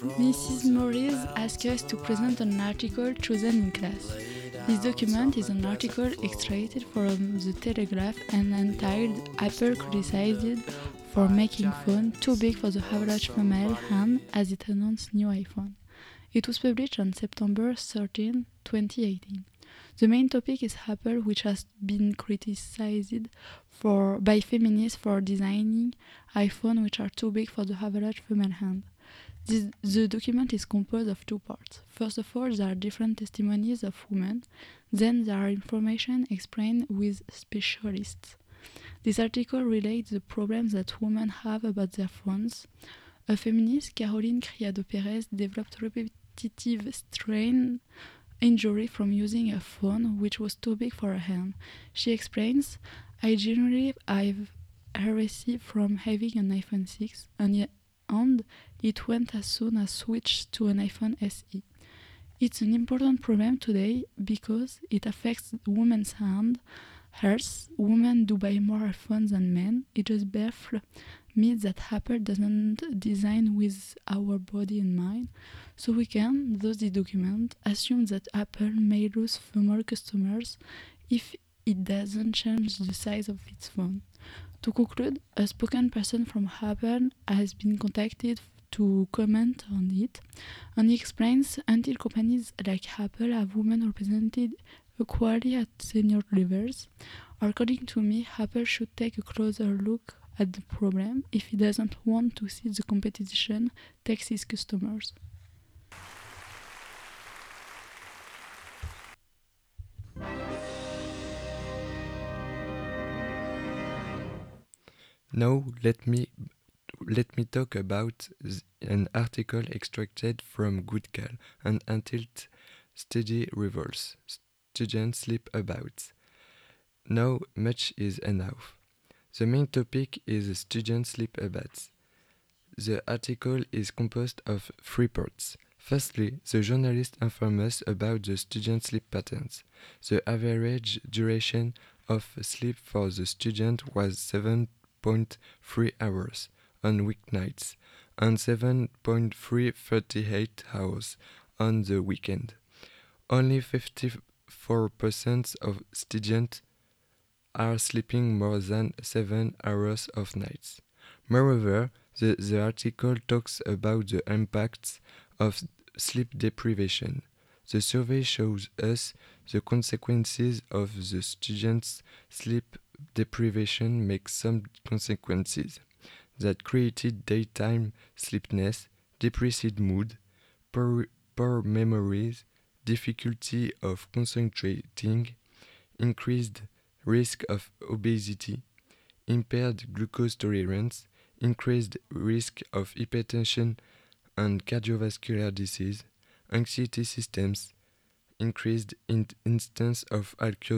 Mrs. Morris asked us to present an article chosen in class. This document is an article extracted from the Telegraph and entitled "Apple Criticized for Making Phone Too Big for the Average Female Hand as it announced new iPhone." It was published on September 13, 2018. The main topic is Apple, which has been criticized by feminists for designing iPhones which are too big for the average female hand. The document is composed of two parts. First of all, there are different testimonies of women. Then there are information explained with specialists. This article relates the problems that women have about their phones. A feminist, Caroline Criado Perez, developed repetitive strain injury from using a phone which was too big for her hand. She explains, "I generally have heresy from having an iPhone 6 and it went as soon as switched to an iPhone SE. It's an important problem today because it affects women's hand health. Women do buy more iPhones than men. It just baffles me that Apple doesn't design with our body in mind. So we can, thus the document, assume that Apple may lose female customers if it doesn't change the size of its phone." To conclude, a spokesperson from Apple has been contacted to comment on it, and he explains, "Until companies like Apple have women represented equally at senior levels, according to me, Apple should take a closer look at the problem if it doesn't want to see the competition takes its customers." Now let me talk about an article extracted from Goodcal and entitled "Study Revolves. Students Sleep About." Now much is enough. The main topic is student sleep habits. The article is composed of three parts. Firstly, the journalist informs us about the student sleep patterns. The average duration of sleep for the student was 7.3 hours on weeknights and 7.338 hours on the weekend. Only 54% of students are sleeping more than 7 hours of nights. Moreover, the article talks about the impacts of sleep deprivation. The survey shows us the consequences of the students' sleep deprivation make some consequences that created daytime sleepiness, depressed mood, poor memories, difficulty of concentrating, increased risk of obesity, impaired glucose tolerance, increased risk of hypertension and cardiovascular disease, anxiety systems, increased instance of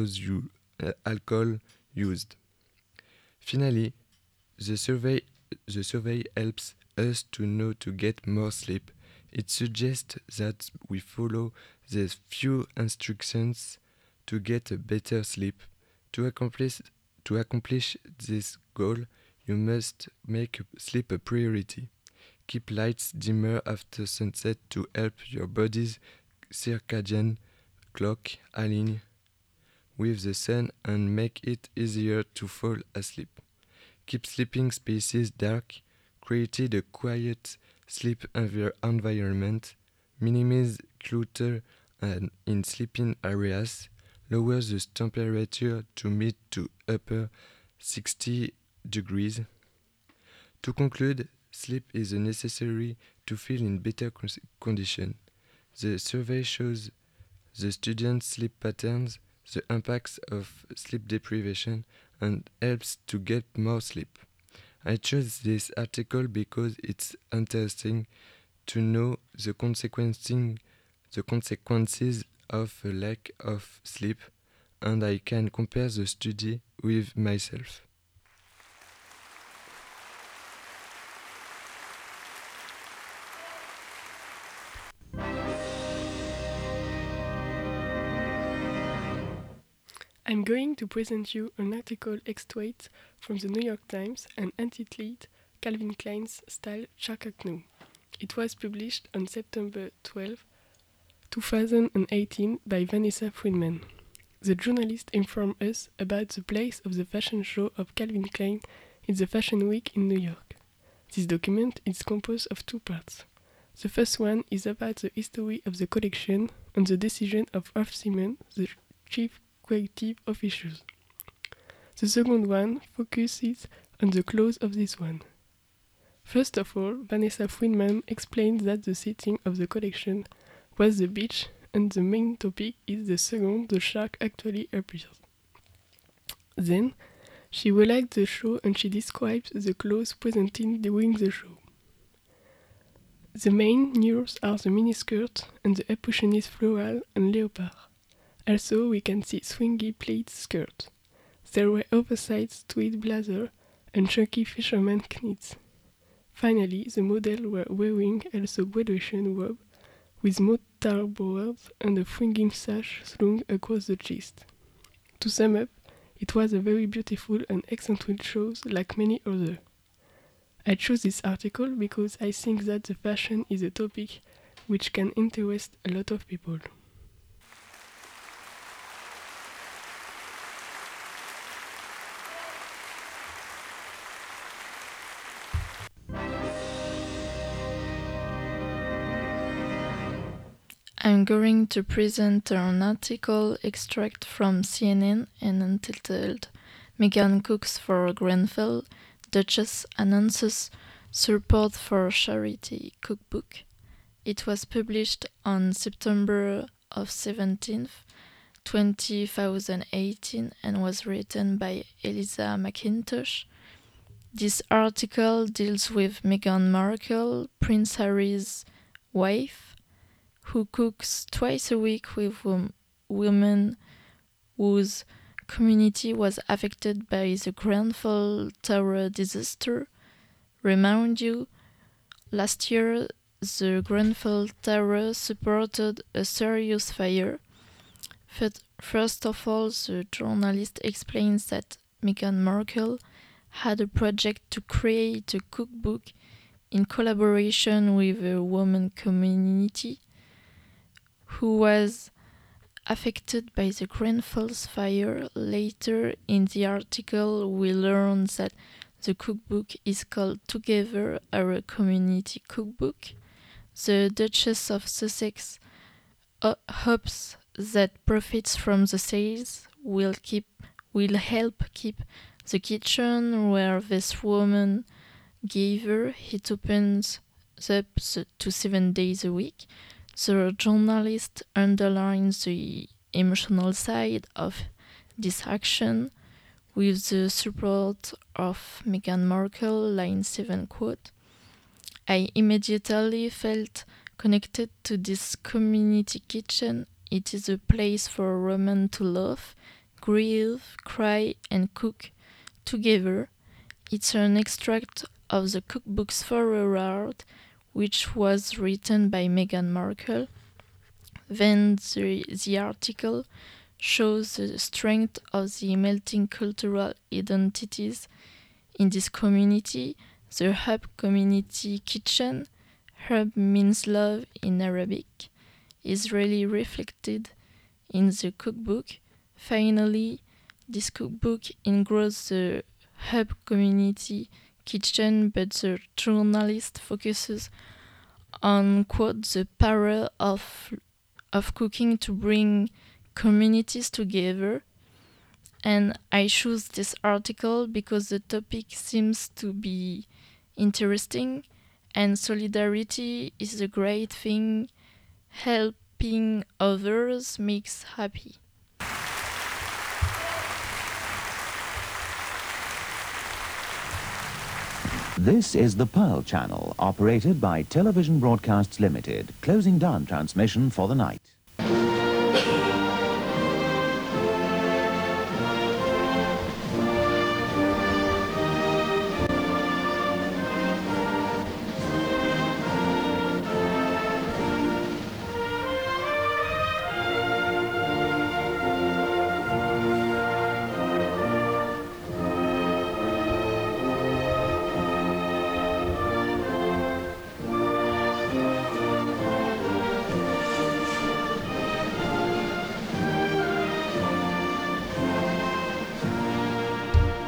alcohol used. Finally, the survey helps us to know to get more sleep. It suggests that we follow these few instructions to get a better sleep. To accomplish this goal, you must make sleep a priority. Keep lights dimmer after sunset to help your body's circadian clock align with the sun and make it easier to fall asleep. Keep sleeping spaces dark, create a quiet sleep environment, minimize clutter in sleeping areas, lower the temperature to mid to upper 60 degrees. To conclude, sleep is necessary to feel in better condition. The survey shows the students' sleep patterns, the impacts of sleep deprivation, and helps to get more sleep. I chose this article because it's interesting to know the consequences of a lack of sleep, and I can compare the study with myself. I'm going to present you an article extract from the New York Times and entitled "Calvin Klein's Style Shakaknu." It was published on September 12, 2018 by Vanessa Friedman. The journalist informed us about the place of the fashion show of Calvin Klein in the Fashion Week in New York. This document is composed of two parts. The first one is about the history of the collection and the decision of Raf Simons, the chief creative officer. The second one focuses on the clothes of this one. First of all, Vanessa Friedman explains that the setting of the collection was the beach, and the main topic is the second the shark actually appears. Then, she relaxed the show and she describes the clothes presented during the show. The main news are the miniskirt and the impressionist floral and leopard. Also, we can see swingy pleat skirts. There were oversized tweed blazer and chunky fisherman knits. Finally, the models were wearing also graduation robe with mortarboards and a fringing sash slung across the chest. To sum up, it was a very beautiful and eccentric show like many others. I chose this article because I think that the fashion is a topic which can interest a lot of people. I'm going to present an article extract from CNN and entitled Megan Cooks for Grenfell, Duchess announces support for charity cookbook. It was published on September of 17th, 2018 and was written by Eliza McIntosh. This article deals with Meghan Markle, Prince Harry's wife, who cooks twice a week with women whose community was affected by the Grenfell Tower disaster. Remind you, last year the Grenfell Tower supported a serious fire. First of all, the journalist explains that Meghan Markle had a project to create a cookbook in collaboration with a woman community who was affected by the Grenfell fire. Later in the article, we learn that the cookbook is called Together, Our Community Cookbook. The Duchess of Sussex hopes that profits from the sales will help keep the kitchen where this woman gave her. It opens up to 7 days a week. The journalist underlines the emotional side of this action with the support of Meghan Markle, line 7 quote, I immediately felt connected to this community kitchen. It is a place for women to laugh, grieve, cry and cook together. It's an extract of the cookbook's foreword, which was written by Meghan Markle. Then the article shows the strength of the melting cultural identities in this community. The Hub Community Kitchen, Hub means love in Arabic, is really reflected in the cookbook. Finally, this cookbook includes the Hub Community Kitchen, but the journalist focuses on, quote, the power of cooking to bring communities together. And I choose this article because the topic seems to be interesting, and solidarity is a great thing. Helping others makes happy. This is the Pearl Channel, operated by Television Broadcasts Limited, closing down transmission for the night.